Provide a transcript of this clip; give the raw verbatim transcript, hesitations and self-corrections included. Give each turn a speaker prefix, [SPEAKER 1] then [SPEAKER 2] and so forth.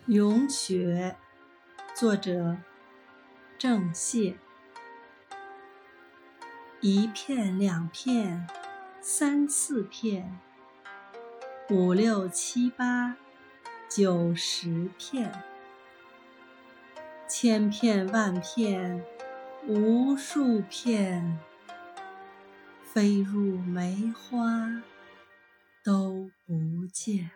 [SPEAKER 1] 咏雪，作者郑燮。一片两片三四片，五六七八九十片，千片万片无数片，飞入梅花都不见。